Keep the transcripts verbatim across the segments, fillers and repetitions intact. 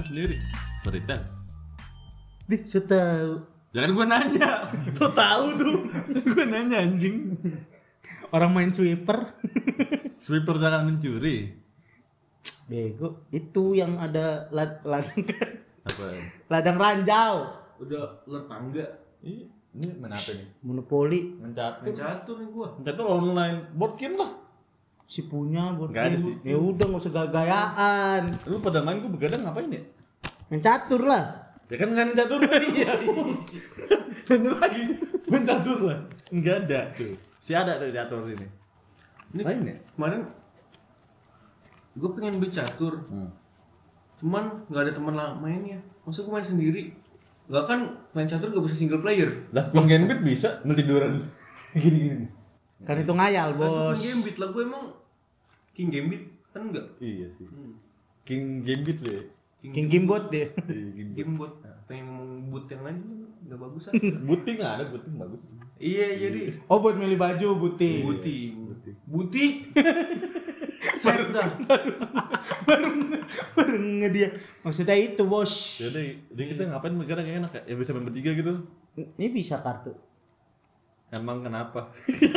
sendiri. Berita. Dih, saya tahu. Jangan gue nanya. So tahu tuh. Gue nanya anjing. Orang main sweeper. Sweeper jangan mencuri. Bego, itu yang ada lad- ladang Apa? ladang ranjau. Udah ular tangga. Ini ini main apa nih? Monopoli. Mencatur. Main catur nih gua. Mencatur online. Board game lah. Si punya buat Nggak ada game. sih. Ya udah enggak usah gaya-gayaan. Lu pada main gue begadang ngapain ya? Main catur lah. Ya kan nggak catur. Iya. Nanya lagi. Main catur lah. Enggak ada tuh. Si ada tuh catur ini. Ini Main ya? kemarin gue pengen beli catur. Hmm. Cuman nggak ada teman lah mainnya. Masa gue main sendiri? Nggak kan main catur gak bisa single player. Lah, Bang Gambit bisa ngetiduran. Gini-gini. Kan itu ngayal, Bos. Bos. King Gambit lah gue emang King Gambit kan enggak. Iya sih. King Gambit lu ya. King Gimbot deh. Iya, King Game buat pengen ngomong boot yang lain nggak bagus ah. Buting nggak ada, buting bagus. Iya jadi Oh, buat milih baju buti. buti Buting. buti. Set dah. baru baru nge dia. Maksudnya itu, Bos. Yaudah, jadi kita ngapain begadang yang enak ya? Ya bisa main bertiga gitu. Ini bisa kartu. Emang kenapa?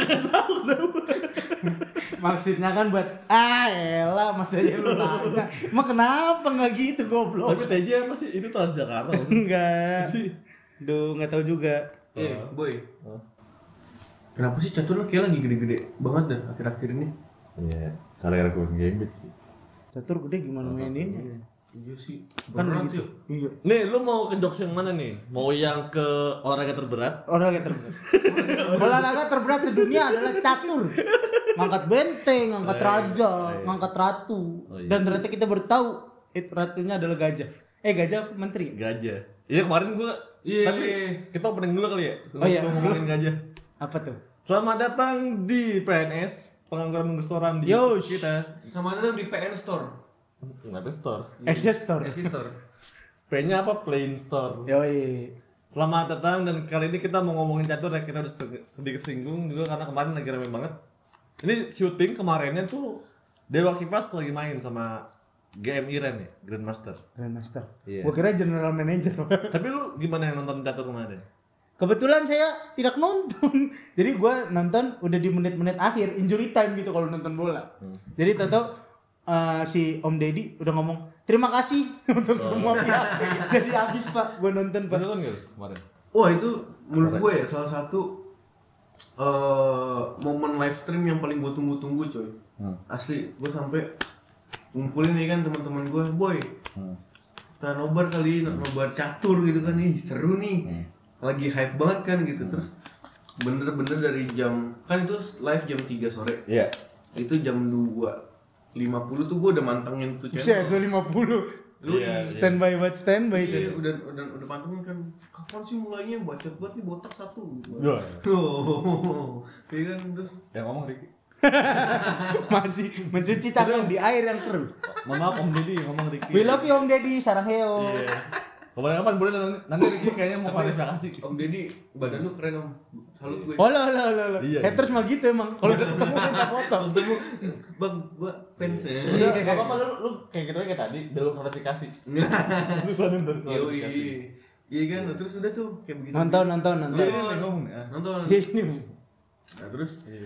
Maksudnya kan buat ah elah maksudnya lu nanya. Emang kenapa enggak gitu goblok? Tapi T J apa sih? Itu Transjakarta. Enggak. Duh, enggak tahu juga. Eh boy. Oh. Kenapa sih catur lo kayak lagi gede-gede banget dah akhir-akhir ini? Iya, gara-gara gue Gambit sih. Catur gede gimana maininnya? Iya sih. Kan Berat begitu. ya. Iya. Nih, lu mau ke jokes yang mana nih? Mau yang ke olahraga terberat? Olahraga terberat. Olahraga terberat sedunia adalah catur. Ngangkat benteng, ngangkat raja, ngangkat ratu. Oh, iya. Dan ternyata kita baru tahu itu ratunya adalah gajah. Eh gajah menteri. Gajah. Iya, kemarin gua Iya. Tapi kita opening dulu kali ya. Oh, iya. Sebelum ngomongin gajah. Apa tuh? Selamat datang di P N S, pengangguran restoran di Yosh. kita. Sama datang di P N Store. Nggak ada store. Access store. Esi Store. P-nya apa? Plain Store. Yoi. Selamat datang dan kali ini kita mau ngomongin catur ya. Kita udah sedikit singgung juga karena kemarin lagi rame banget. Ini syuting kemarinnya tuh Dewa Kipas lagi main sama G M Iren ya, Grandmaster. Grandmaster. Iya. Gua kira general manager. Tapi lu gimana yang nonton catur kemarin? Kebetulan saya tidak nonton. Jadi gua nonton udah di menit-menit akhir, injury time gitu kalau nonton bola. Hmm. Jadi tahu uh, si Om Deddy udah ngomong terima kasih untuk semua pihak. Jadi habis Pak, gua nonton Pak. Lu nonton nggak kemarin? Wah itu menurut gue ya salah satu uh, momen live stream yang paling gue tunggu-tunggu coy. Hmm. Asli gue sampai ngumpulin nih kan teman-teman gue, boy. Hmm. Kita nobar kali, nobar catur gitu kan nih, seru nih. Hmm. Lagi hype banget kan gitu. Terus bener-bener dari jam kan itu live jam tiga sore. Iya. Itu jam dua lima puluh tuh gue udah mantengin tuh Bisa channel. dua lima puluh. Lu Iya, Standby buat standby Iya, itu. udah udah udah pantengin kan. Kapan sih mulainya bacot banget nih botak satu gitu. Iya. Tuh. Iya kan terus Yang ngomong Ricky. Masih mencuci tangan di air yang keruh. Mohon maaf Om Deddy ngomong Ricky. We love you Om Deddy, sarang heo. Iya. Kapan-kapan boleh nanti, nanti Ricky kayaknya mau klarifikasi. Om Deddy badan lu keren om. Salut gue. Oh lah lah lah lah. Iya. Haters mah gitu emang. Kalau udah ketemu minta foto. Ketemu bang gua fans ya. Udah, nggak apa-apa lu, lu kayak gitu aja kayak tadi, udah lu klarifikasi. Lu selalu klarifikasi. Iya kan, terus udah tuh kayak begitu. Nonton nonton nonton. Iya, ini ngomong nih. ah. Nonton. Ya ini. Nah terus eh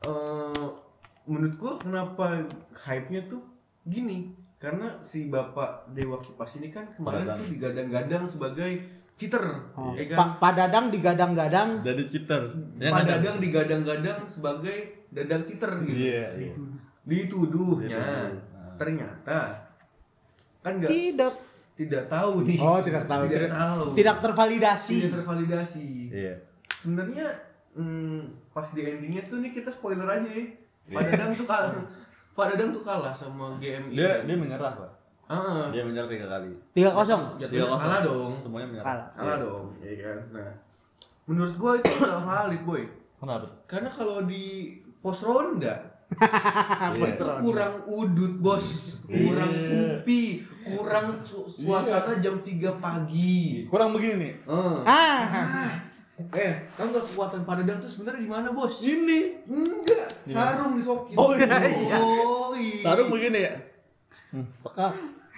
menurut gua kenapa hype-nya tuh gini? Karena si Bapak Dewa Kipas ini kan kemarin Padadang. tuh digadang-gadang sebagai cheater, Oh. ya kan? Pak Pak Dadang digadang-gadang. Jadi cheater. Yang Pak ada. Dadang digadang-gadang sebagai dadang cheater gitu. Iya, iya. Dituduhnya. Dituduh. Ternyata kan enggak Tidak. tidak tahu nih. Oh, tidak tahu. Tidak, tahu. Tidak tervalidasi. Tidak tervalidasi. Iya. Sebenarnya hmm, pas di endingnya tuh nih kita spoiler aja ya. Pak Dadang tuh kalah. Pak Dadang tuh kalah sama G M I. Dia dia menyerah, Pak. Ah, Dia menyerah tiga kali. tiga kosong. jatuhnya kalah dong. Semuanya menyerah. Kalah. Kalah dong, ya kan. Nah, menurut gua itu nggak valid, boy. Kenapa? Karena kalau di pos ronda Iya. itu kurang udut, bos. Kurang kupi, kurang su- suasana jam tiga pagi. Kurang begini nih. Eh. Ah. Eh, tahu nggak kekuatan Pak Dadang tuh sebenarnya di mana, bos? Ini. Enggak, sarung disokin. Oh, iya. Oh, iya. Sarung begini ya. Hmm, sekat.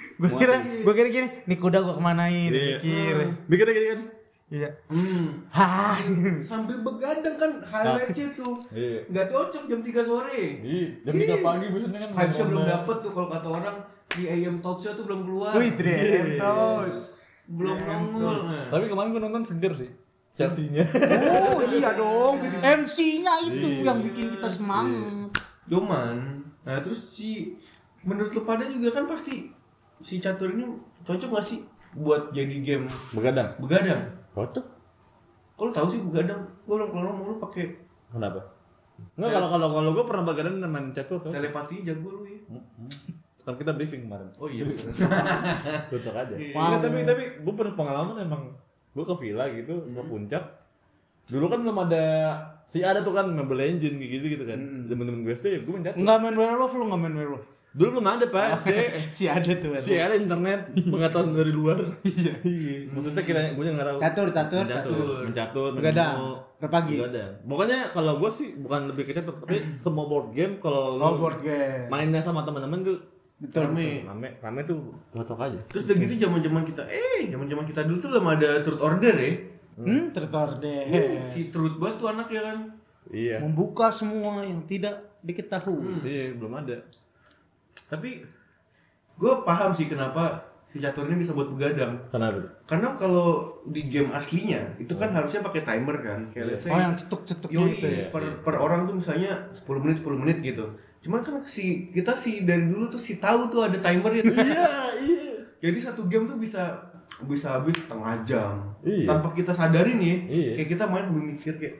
Gue kira, gue kira gini, nih kuda gue kemanain, Iya. mikir. Mikirnya kayak kan. Iya. Hmm. Hah. Sambil begadang kan highlightsnya tuh. Iya. Nggak cocok jam tiga sore. Iya, jam tiga pagi biasanya kan. Vibes-nya belum dapet tuh kalau kata orang di A M Talks-nya tuh belum keluar. Wih, Dream Toast. Belum nongol. Nah. Tapi kemarin gue nonton seger sih. Chelsea-nya. Oh iya dong, M C-nya itu yang bikin kita semangat. Doman. Nah terus si menurut lu pada juga kan pasti si catur ini cocok gak sih buat jadi game Begadang. begadang? Cocok. Kalau tahu sih begadang, gua orang kalau mau lu pakai Kenapa? Enggak, kalau kalau kalau gue pernah begadang main catur tuh. telepati jago lu ya. Kan kita briefing kemarin. Oh iya. Cocok aja. Wow. Nggak, tapi tapi gue pernah pengalaman emang gue ke villa gitu, ke puncak. Dulu kan belum ada si ada tuh kan Mobile Legends gitu gitu kan. Temen-temen gue S D ya gue main catur. Enggak main werewolf, lu enggak main werewolf. Dulu belum ada Pak S D. Si ada tuh. Si ada internet pengetahuan dari luar. Iya. Maksudnya kita gue nggak tahu. Catur, catur, Mencatur, mencatur, Begadang. mencatur. Ke pagi. Begadang. Pokoknya kalau gue sih bukan lebih ke catur, tapi semua board game kalau Oh, lu board game. mainnya sama teman-teman tuh Betul, Rame. rame, rame tuh cocok aja. Terus udah gitu zaman-zaman kita eh zaman-zaman kita dulu tuh belum ada truth order ya. Hmm, terkorde. Si truth banget tuh anak ya kan. Iya. Membuka semua yang tidak diketahui. Iya, belum ada. Tapi gue paham sih kenapa si catur ini bisa buat begadang. Kenapa? Karena kalau di game aslinya itu kan harusnya pakai timer kan. Kayak let's say Oh, yang cetuk-cetuk Yoi, gitu ya. per, per orang tuh misalnya sepuluh menit sepuluh menit gitu. Cuman kan si kita sih dari dulu tuh si tahu tuh ada timernya tuh. Iya, iya. Jadi satu game tuh bisa bisa habis setengah jam. Iya. Tanpa kita sadarin ya. Iya. Kayak kita main sambil mikir kayak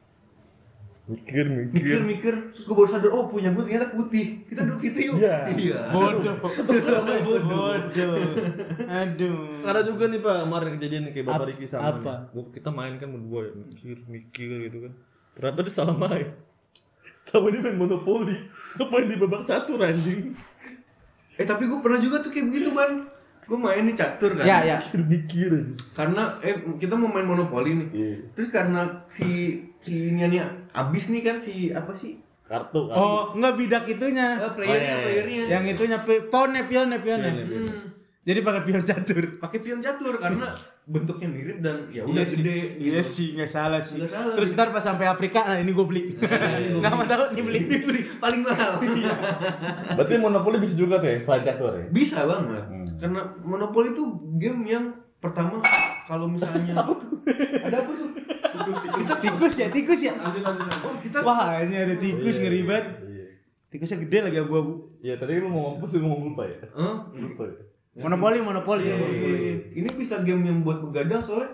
Mikir, mikir. mikir-mikir terus gue baru sadar oh punya gue ternyata putih. Kita duduk situ yuk. Iya. Iya. Bodoh. Bodoh. Aduh. Ada juga nih Pak kemarin kejadian nih kayak Bapak Ap- Riki sama apa? nih. Gua- Kita main kan berdua ya, mikir, mikir gitu kan. Ternyata dia salah main. Sama dia main monopoli. Ngapain di babak catur anjing? Eh tapi gue pernah juga tuh kayak begitu ban. Gue main nih catur kan. Ya, ya. Mikir, mikir aja. Karena eh kita mau main monopoli nih. Iya. Terus karena si si nya abis nih kan si apa sih? Kartu, kartu. Oh, enggak bidak itunya. Eh, playernya, Oh, iya, iya. playernya. Yang itunya pi- pionnya, pionnya, pionnya. Pionnya, pionnya. Hmm, Jadi pakai pion catur. pakai pion catur karena bentuknya mirip dan ya udah Iya sih. gede gitu. Iya sih, nggak salah sih. Nggak salah. Terus ntar pas sampai Afrika, nah ini gue beli. Nggak mau tahu, ini beli. Ini beli paling mahal. Berarti monopoli bisa juga tuh ya, selain catur ya? Bisa banget. Hmm. Karena monopoli itu game yang pertama kalau misalnya ada apa tuh? Tikus, kita Tikus ya, tikus ya. lanjut lanjut. lanjut. Oh, kita Wah, ini ada tikus ngeri banget. Iya. Tikusnya gede lagi abu-abu. Iya, tadi lu mau ngomong, lu ngomong lupa ya? Hah? Lupa ya? Monopoli, monopoli. Eh, ini bisa game yang buat begadang soalnya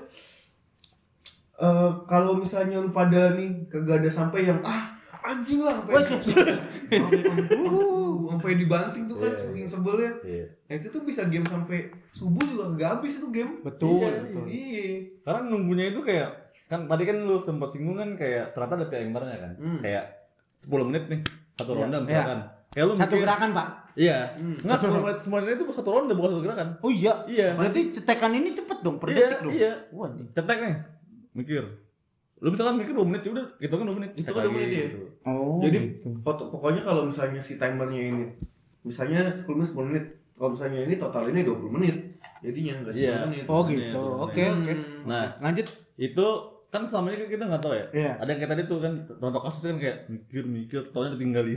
eh kalau misalnya lu pada nih kagak ada sampai yang ah anjing lah Wes, sampai wes, wes. sampai dibanting tuh kan Iya, saking sebelnya. Iya. Nah itu tuh bisa game sampai subuh juga nggak habis itu game. Betul, Iya, betul. Iya. Karena nunggunya itu kayak kan tadi kan lu sempat singgung kan kayak ternyata ada timernya kan. Hmm. Kayak sepuluh menit nih satu Iya, ronde iya. misalkan. Kayak lu Satu mikir- gerakan, Pak. Iya. Hmm. Enggak Satu sepuluh menit sepuluh menit itu satu ronde bukan satu gerakan. Oh iya. Iya. Berarti cetekan ini cepet dong, per Iya, detik dong. iya. Wah, anjing. Cetek nih. Mikir. Lu misalkan mikir dua menit ya udah hitungin dua menit. Itu Cetek kan dua lagi, menit ya? gitu. Oh. Jadi gitu. pot- pokoknya kalau misalnya si timernya ini misalnya sepuluh menit sepuluh menit. Kalau misalnya ini total ini dua puluh menit. Jadinya enggak Iya. sepuluh menit. Oh Iya, gitu. iya. Oke, oke. Hmm. Nah, Lanjut. itu kan selama ini kan kita nggak tahu ya. Iya. Ada yang kayak tadi tuh kan contoh kasus kan kayak mikir mikir, taunya ditinggalin.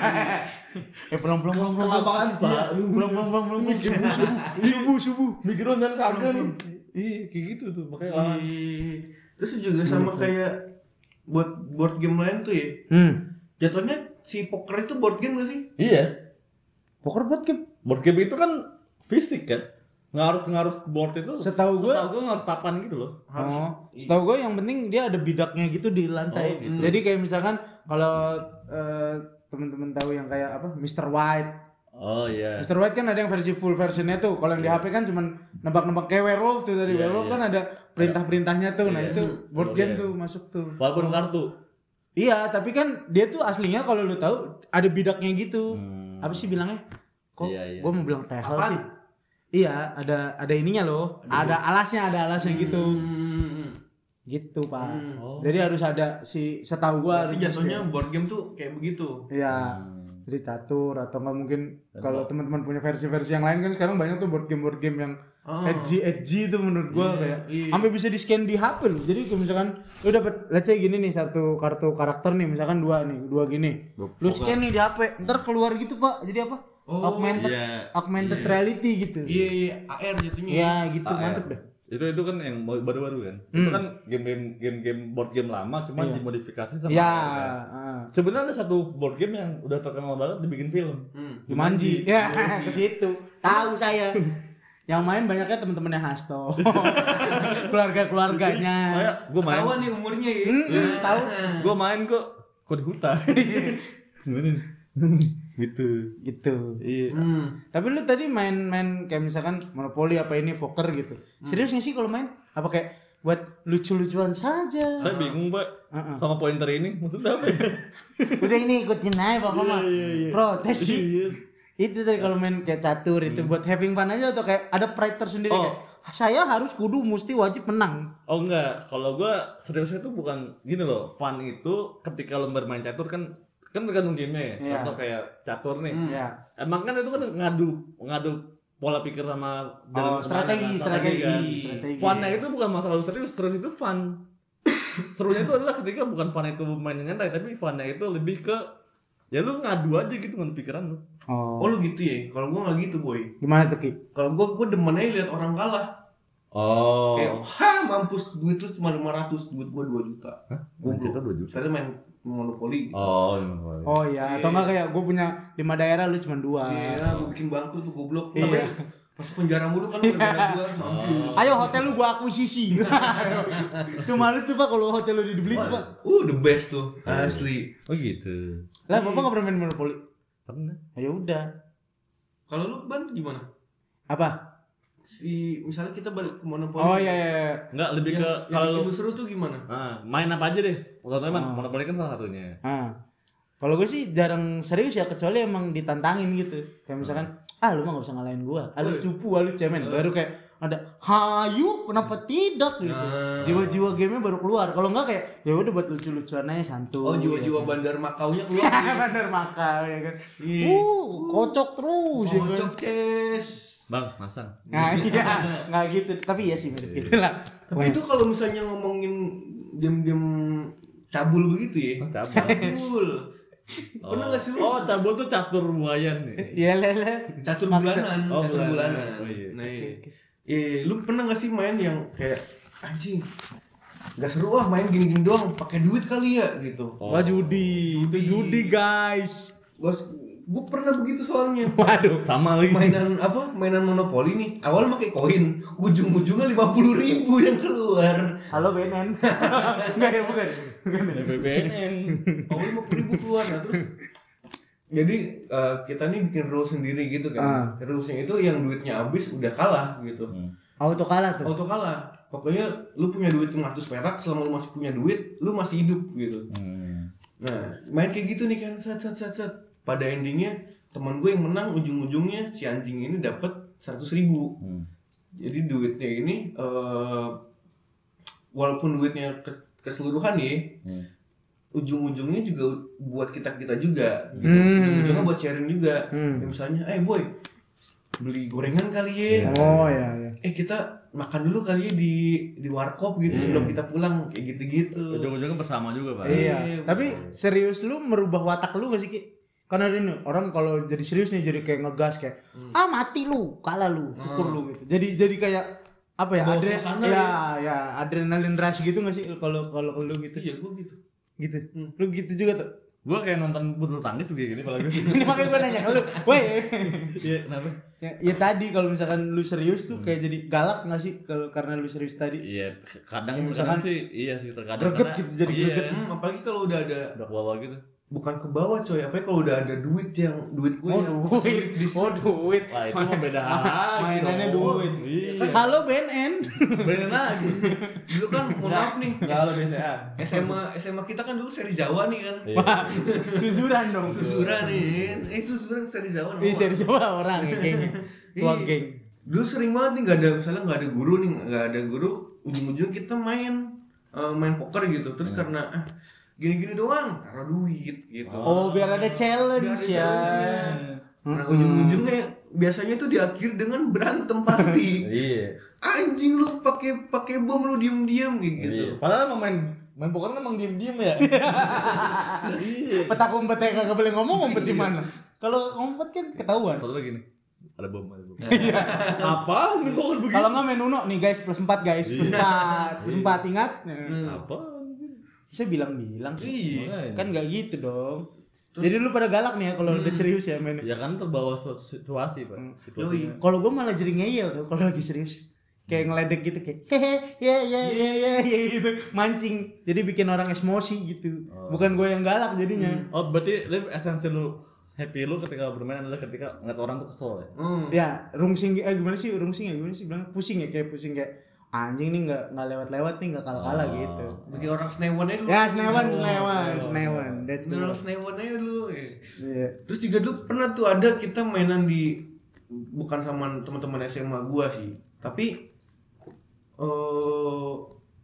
Eh pulang pulang pulang pulang. Apaan, Pak? Iya, pulang pulang pulang pulang. Subuh subuh subuh subuh. Mikir dan kagak nih. Iya, kayak gitu tuh makanya lama. Ih, Terus juga sama kayak buat board game lain tuh ya. Hmm. Jatuhnya si poker itu board game gak sih? Iya. Poker buat game. Board game itu kan fisik kan. Nggak harus nggak harus board itu. Setahu gua- setahu gua nggak harus papan gitu loh. Oh, setahu gue yang penting dia ada bidaknya gitu di lantai. Oh, gitu. Jadi kayak misalkan kalau eh, teman-teman tahu yang kayak apa, mister White. Oh iya. mister White kan ada yang versi full versionnya tuh. Kalau yang di H P kan cuman nebak-nebak kayak werewolf tuh dari Iya, werewolf iya. kan ada perintah-perintahnya tuh. Nah, Iya. itu board Oh, game iya. tuh masuk tuh. Walaupun kartu. Iya, tapi kan dia tuh aslinya kalau lu tahu ada bidaknya gitu. Hmm. Apa sih bilangnya? Kok Iya, iya. gua mau bilang tehel Apaan? sih? Iya, ada ada ininya loh. Ada, alasnya, ada alasnya gitu. Hmm. Gitu, Pak. Hmm. Oh. Jadi harus ada si setahu gua Berarti harus jatuhnya board game tuh kayak begitu. Iya. Hmm. Jadi catur atau enggak mungkin kalau teman-teman punya versi-versi yang lain kan sekarang banyak tuh board game board game yang Oh. edgy edgy itu menurut gua Iya, kayak iya. sampai bisa di scan di H P loh. Jadi kayak misalkan lu dapat let's say gini nih satu kartu karakter nih misalkan dua nih, dua gini. Lu scan nih di H P, ntar keluar gitu, Pak. Jadi apa? Oh, augmented iya. augmented reality gitu. Iya, iya, A R jatuhnya. Ya gitu, A R. mantep dah. Itu itu kan yang baru-baru kan. Itu kan game-game game-game board game lama cuma dimodifikasi sama Ya, A R kan. heeh. Sebenarnya ada satu board game yang udah terkenal banget dibikin film. Hmm. Jumanji. Ya, ke situ. Tahu saya. Yang main banyaknya teman-temannya Hasto. Keluarga-keluarganya. Saya gue main, Ketahuan nih umurnya ya. Hmm, tahu. gue main kok kok di hutan. Gimana nih? Gitu. Gitu. Iya. Hmm. Tapi lu tadi main-main kayak misalkan monopoli apa ini poker gitu. Serius nggak sih kalau main? Apa kayak buat lucu-lucuan saja? Saya bingung, Pak. Heeh. Sama pointer ini maksudnya apa ya? Udah ini ikutin aja Bapak mah. Protes sih. Iya. Itu tadi kalau main kayak catur itu buat having fun aja atau kayak ada pride tersendiri Oh. kayak saya harus kudu mesti wajib menang. Oh enggak, kalau gua seriusnya itu bukan gini loh. Fun itu ketika lo bermain catur kan kan tergantung game-nya ya. Iya. Contoh kayak catur nih. Ya. Emang kan itu kan ngadu ngadu pola pikir sama Oh, kemana strategi, kan, strategi, kan. strategi. Funnya itu bukan masalah lu serius, terus itu fun. Serunya itu adalah ketika bukan fun itu mainnya nyantai, tapi funnya itu lebih ke ya lu ngadu aja gitu ngadu pikiran lu. Oh. Oh lu gitu ya? Kalau gua nggak gitu boy. Gimana tuh Ki? Kalau gua gua demen aja lihat orang kalah. Oh. Kayak, ha mampus duit lu cuma lima ratus, duit gua dua juta. Hah? Gua Kita dua juta. Saya main monopoli. Oh, iya. Oh iya, atau enggak kayak gue punya lima daerah lu cuma dua. Iya, gua bikin bangkrut tuh goblok. Iya. Tapi masuk penjara mulu kan gara-gara gua mampus. Ayo hotel lu gua akuisisi. Tuh males tuh Pak kalau hotel lu dibeli tuh Pak. Uh, the best tuh. Asli. Oh gitu. Lah Bapak enggak pernah main monopoli? Pernah. Ya udah. Kalau lu Ban gimana? Apa? Si misalnya kita balik ke monopoli. Oh iya iya. iya. Enggak, lebih Yang, ke yang kalau bikin lu lu seru tuh gimana? ah, main apa aja deh. Contohnya Oh. monopoli kan salah satunya. Ah. Kalau gue sih jarang serius ya kecuali emang ditantangin gitu. Kayak misalkan, ah lu mah gak bisa ngalahin gua. Ah lu cupu, ah lu cemen. Baru kayak ada, hayu kenapa tidak gitu. Ah. Jiwa-jiwa gamenya baru keluar. Kalau enggak kayak ya udah buat lucu-lucuan aja santuy. Oh, jiwa-jiwa ya kan. bandar Makaunya keluar. Ya bener makal ya kan. Iya. Uh, kocok terus ya kan. Kocok ces. Bang, masang. Nah iya, nggak gitu. Tapi iya sih mirip gitu lah. Tapi itu kalau misalnya ngomongin game-game cabul begitu ya. Oh, cabul. Cabul. Pernah nggak sih lu? Oh, cabul tuh catur buayan nih. Iya lele. Catur Maksa. bulanan, Oh, catur bulanan. bulanan. Oh, iya. Nah, iya. Eh, lu pernah nggak sih main yang kayak anjing? Gak seru ah main gini-gini doang, pakai duit kali ya gitu. Oh. Wah judi, itu judi guys. Bos, gue pernah begitu soalnya. Waduh. Sama lagi. Mainan apa? Mainan monopoli nih. Awal pakai koin, ujung-ujungnya lima puluh ribu yang keluar. Halo B N N. Enggak ya bukan. Bukan. B B N. Oh, lima puluh ribu keluar. Nah, terus jadi eh, kita nih bikin rules sendiri gitu kan. Rulesnya itu yang duitnya habis udah kalah gitu. Auto kalah tuh. Auto kalah. Pokoknya lu punya duit lima ratus perak, selama lu masih punya duit, lu masih hidup gitu. Hmm. Nah, main kayak gitu nih kan, set set set set. Pada endingnya teman gue yang menang, ujung-ujungnya si anjing ini dapat seratus ribu. Hmm. Jadi duitnya ini eh walaupun duitnya kes- keseluruhan ya, Hmm. ujung-ujungnya juga buat kita kita juga. Gitu. Hmm. Ujung-ujungnya buat sharing juga. Hmm. Kayak misalnya, eh boy, beli gorengan kali ya. Oh ya ya. Eh kita makan dulu kali ya di di warkop gitu sebelum kita pulang kayak gitu-gitu. Ujung-ujungnya bersama juga, Pak. Iya. Iya, Tapi serius lu merubah watak lu gak sih Ki? Karena ini orang kalau jadi serius nih jadi kayak ngegas kayak ah mati lu, kalah lu, syukur lu gitu. Jadi jadi kayak apa ya? Bawa Adre suasana ya, ya adrenalin rush gitu gak sih kalau kalau lu gitu? Iya gue gitu. Gitu. Lu gitu juga tuh. Gua kayak nonton bulu tangkis kayak gini kalau gue. Ini makanya gue nanya ke lu, woi. Iya, kenapa? Ya, ya tadi kalau misalkan lu serius tuh kayak jadi galak nggak sih kalau karena lu serius tadi? Iya, kadang Ya, misalkan misalkan sih iya sih terkadang greget karena- gitu, jadi iya, greget. Hmm, apalagi kalau udah ada udah ke bawah gitu. bukan ke bawah coy, apalagi kalau udah ada duit yang duit gue Oh yang duit, di oh duit. Wah, itu mah beda hal lagi. Mainannya dong. duit. Iya. Halo B N N. Beda lagi. dulu kan mohon maaf nih Enggak halo B C A. S M A S M A kita kan dulu seri Jawa nih kan. Iya. Susuran dong. Susuran nih. Eh susuran seri Jawa. Ih serius apa orang ya geng. Tua Iya. geng. Dulu sering banget nih nggak ada misalnya nggak ada guru nih nggak ada guru ujung-ujung kita main eh, main poker gitu terus karena ah, gini-gini doang, taruh duit gitu. Oh, biar ada challenge Biar ada ya. challenge-nya. Nah ujung-ujungnya biasanya tuh diakhiri dengan berantem pasti. Iya. Anjing lu pakai pakai bom lu diem-diem kayak gitu. Iya. Padahal emang main main poker kan emang diem-diem ya. Iya. Petak umpetnya kagak boleh ngomong, ngumpet di mana? Kalau ngumpet kan ketahuan. Satu lagi nih. Ada bom, ada bom. Apa? Main poker begitu? Kalau nggak main Uno nih guys, plus empat guys, plus empat, plus empat ingat? Apa? Saya bilang-bilang sih. Iya. Kan nggak gitu dong. Jadi lu pada galak nih ya kalau udah serius ya mainnya. Ya kan terbawa su- situasi, Pak. Situasinya. Kalau gue malah jadi ngeyel tuh kalau lagi serius. Kayak ngeledek gitu kayak hehe ya ya ya ya ya gitu mancing. Jadi bikin orang emosi gitu. Bukan gue yang galak jadinya. Oh, berarti lu esensi lu happy lu ketika bermain adalah ketika ngeliat orang tuh kesel ya. Hmm. Ya, rungsing eh gimana sih? Rungsing ya gimana sih bilang pusing ya kayak pusing kayak anjing nih nggak nggak lewat-lewat nih nggak kalah-kalah Oh. gitu. Bikin orang senewan aja dulu. Ya, senewan, senewan, senewan. That's the Bener word. senewan aja dulu. Iya. Terus juga dulu pernah tuh ada kita mainan di bukan sama teman-teman S M A gua sih, tapi eh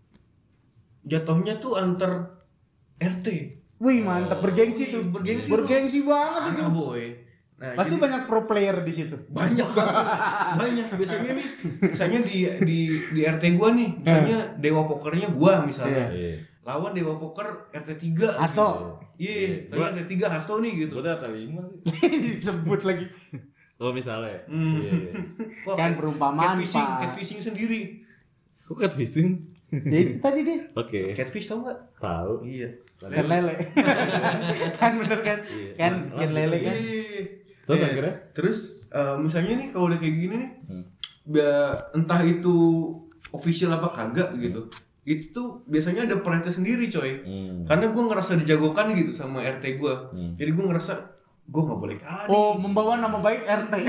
jatuhnya tuh antar R T. Wih, mantap bergengsi tuh. Bergengsi Bergengsi banget itu. Ah, boy. Nah, Pasti jadi- banyak pro player di situ. banyak banget. banyak biasanya nih misalnya di di di R T gua nih misalnya dewa pokernya gua misalnya Iya. lawan dewa poker R T tiga Hasto. iya Gua- misalnya R T tiga Hasto nih gitu. Gua udah kali lima sih. Sebut lagi. Oh, misalnya. Hmm. Iya, iya. Wah, Kan perumpamaan, catfishing, Pak. catfishing sendiri. Kok catfishing? Ya itu tadi deh. Oke. Catfish tau nggak? Tahu. Iya. Kan lele. kan bener kan? Kan kan lele kan. Iya. Terus Eh, akhirnya? terus eh, misalnya nih kalau udah kayak gini nih, Hmm. ba- entah itu official apa kagak gitu, itu tuh biasanya ada perintah sendiri coy. Hmm. Karena gue ngerasa dijagokan gitu sama R T gue, Hmm. jadi gue ngerasa gue nggak boleh kalah. nih. Oh, membawa nama baik R T.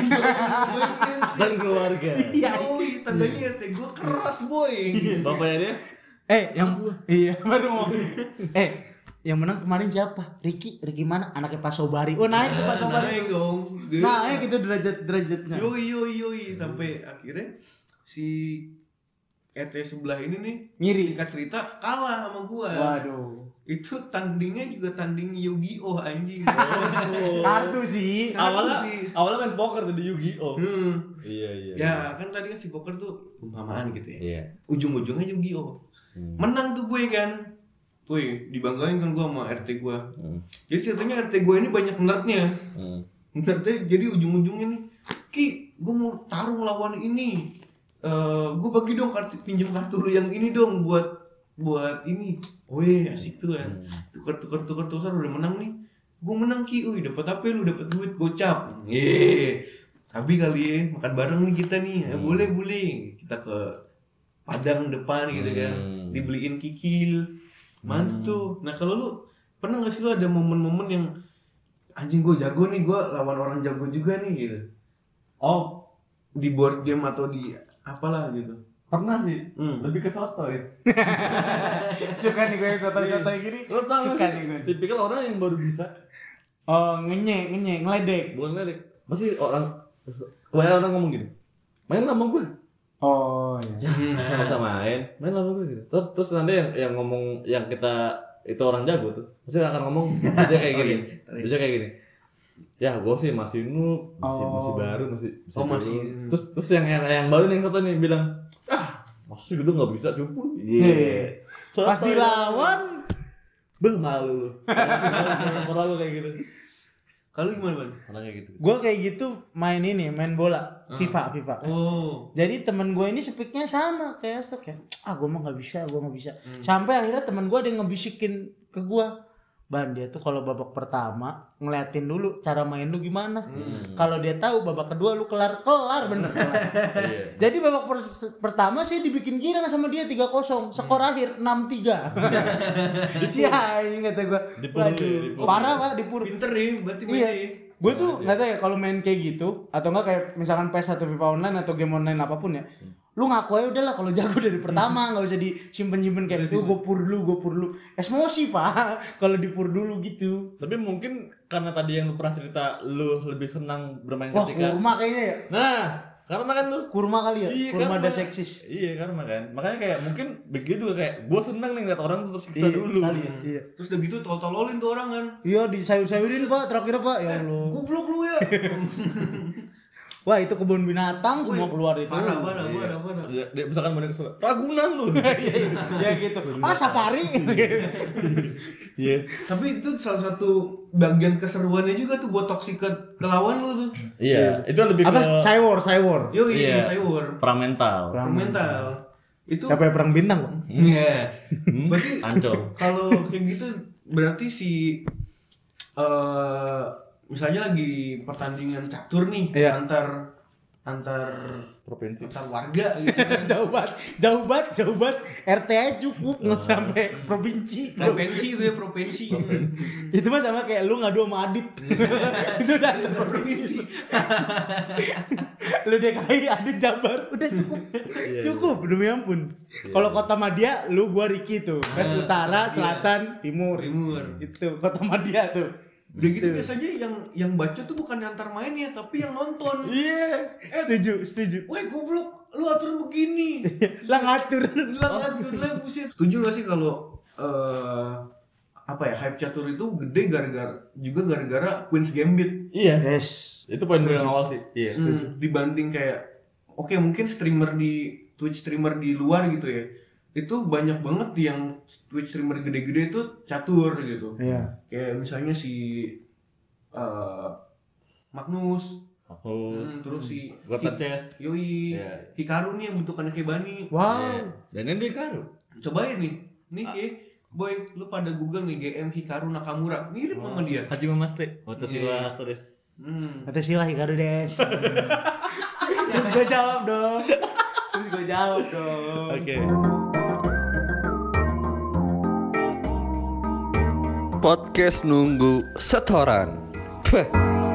Dan keluarga. Iya. Yoi, tandanya R T gue keras boy. Bapaknya dia? Eh, yang iya baru mau. Eh, yang menang kemarin siapa? Ricky, Ricky mana? Anaknya Pak Sobari. Oh, naik tuh Pak Sobari. Naik tuh. dong. Naik itu derajat-derajatnya. Yoi yoi yoi sampai akhirnya si R T sebelah ini nih Ngiri. singkat cerita kalah sama gua. Waduh. Itu tandingnya juga tanding Yu-Gi-Oh anjing. Kartu sih. Awalnya sih. awalnya main poker tuh di Yu-Gi-Oh. Hmm. Iya, iya. Ya kan tadi kan si poker tuh perumpamaan gitu ya. Iya. Ujung-ujungnya Yu-Gi-Oh. Hmm. Menang tuh gue kan. Wih, dibanggain kan gua sama R T gua. Hmm. Jadi ceritanya R T gua ini banyak nerdnya. Hmm. Nerdnya jadi ujung-ujungnya nih, Ki, gua mau taruh lawan ini. Eh, gua bagi dong kartu pinjam kartu lu yang ini dong buat buat ini. Wih, asik tuh kan. Tukar tukar tukar tukar udah menang nih. Gua menang Ki, wih dapat apa lu? Dapat duit gocap. Ye. Tapi kali ya makan bareng nih kita nih. Eh, boleh boleh. Kita ke Padang depan gitu kan. Hmm. Dibeliin kikil. Mantap tuh. Nah kalau lu pernah gak sih lu ada momen-momen yang anjing gue jago nih, gue lawan orang jago juga nih gitu. Oh, Di board game atau di apalah gitu. pernah sih. Hmm. Lebih ke soto ya. Suka nih gue soto-soto gini. Lo tau Suka gak nih gue. sih? Tipikal orang yang baru bisa. Oh, ngenye, ngenye, ngeledek. Bukan ngeledek. Masih orang kebanyakan orang ngomong gini. Main sama gue. Oh, iya. Ya, sama-sama main. Main sama gue gitu. Terus terus nanti yang yang ngomong yang kita itu orang jago tuh. Pasti akan ngomong biasanya kayak gini. Biasanya kayak gini. Ya, gue sih masih noob, masih Oh. masih baru, masih Oh, baru. masih. Terus terus yang yang yang baru nih yang satu nih bilang, "Ah, masih gitu enggak bisa cupu." Iya. Iya. Soto Pas ya. dilawan, Beuh, malu lu. Pernah lu kayak gitu. Kalau gimana Ban? Pernah kayak gitu. gue kayak gitu main ini, main bola, FIFA, FIFA. Oh. Jadi temen gue ini speaknya sama kayak Astok ya. Ah gue mah nggak bisa, gue nggak bisa. Sampai akhirnya temen gue ada yang ngebisikin ke gue, Ban dia tuh kalau babak pertama ngeliatin dulu cara main lu gimana. Kalau dia tahu babak kedua lu kelar kelar bener. kelar. Iya. Jadi babak per- pertama saya dibikin gila sama dia tiga kosong, skor akhir enam tiga. Sia ini kata gue. Dipur dulu ya, dipur. Parah Pak dipur. Pinter nih berarti Iya. mainnya. Gue tuh nggak tahu ya kalau main kayak gitu atau enggak kayak misalkan P E S atau FIFA online atau game online apapun ya. Lu ngaku aja udahlah kalau jago dari pertama, nggak usah disimpen-simpen kayak itu gue pur dulu, gue pur dulu. Emosi Pak kalau dipur dulu gitu. Tapi mungkin karena tadi yang lu pernah cerita lu lebih senang bermain Wah, ketika kurma kayaknya ya. Nah, Karma kan lu. Kurma kali ya? Iya, Kurma karma. ada seksis. Iya karma kan. Makanya kayak mungkin begitu juga kayak gue seneng nih ngeliat orang tuh tersiksa Iya, dulu. kali ya. Iya. Terus udah gitu tol-tololin tuh orang kan. Iya, disayur-sayurin Pak, terakhir Pak. Ya Allah. Goblok lu ya. Wah, itu kebun binatang semua keluar itu. Parah, parah, parah, parah. Iya, dia misalkan mau ke Ragunan lu. Iya, iya. Ya gitu. Ah, safari. Iya. Tapi itu salah satu bagian keseruannya juga tuh buat toksik ke, ke lawan lu tuh. Iya, itu lebih ke Apa? Cywar, Cywar. Yo Iya. iya, sayur. perang mental. Perang Mental. Itu Siapa yang perang bintang, Pak? Iya. Hmm? Berarti Ancol. kalau kayak gitu berarti si eh misalnya lagi pertandingan catur nih Iya. antar antar Provinsi. antar warga gitu kan. Jauh banget, jauh banget, jauh banget. R T aja cukup nggak sampai provinsi. Provinsi itu ya provinsi. Itu mah sama kayak lu ngadu sama Adit. Itu udah ada provinsi. Lu D K I, Adit Jabar, udah cukup. Cukup demi ampun. Kalau kota Madia, lu gua Riki tuh. Kan utara, selatan, timur. Timur. Itu kota Madia tuh. Udah gitu biasanya yang yang baca tuh bukan yang antar mainnya tapi yang nonton. Iya. Setuju, setuju. Woi goblok, lu atur begini. Lah ngatur. Lah ngatur lah buset. Setuju gak sih kalau eh apa ya hype catur itu gede gara-gara juga gara-gara Queen's Gambit. Iya. Yes. Itu poin gue yang awal sih. Iya. Hmm, dibanding kayak oke mungkin streamer di Twitch streamer di luar gitu ya. Itu banyak banget yang Twitch streamer gede-gede itu catur gitu. Iya. Kayak misalnya si uh, Magnus, Aku hmm, terus si Gota Hi- Chess. Yoi, Iya. Hikaru nih yang bentukannya kayak Bani. Wow. Iya. Dan ini dia kan. Cobain nih, nih ya, boy, lu pada Google nih G M Hikaru Nakamura, mirip sama dia. Haji Mamaste. Watashi Iya. wa Astres. Hmm. Kata Siwa Hikaru des. Terus gue jawab dong. Terus gue jawab dong. Oke. Podcast nunggu setoran. Peh.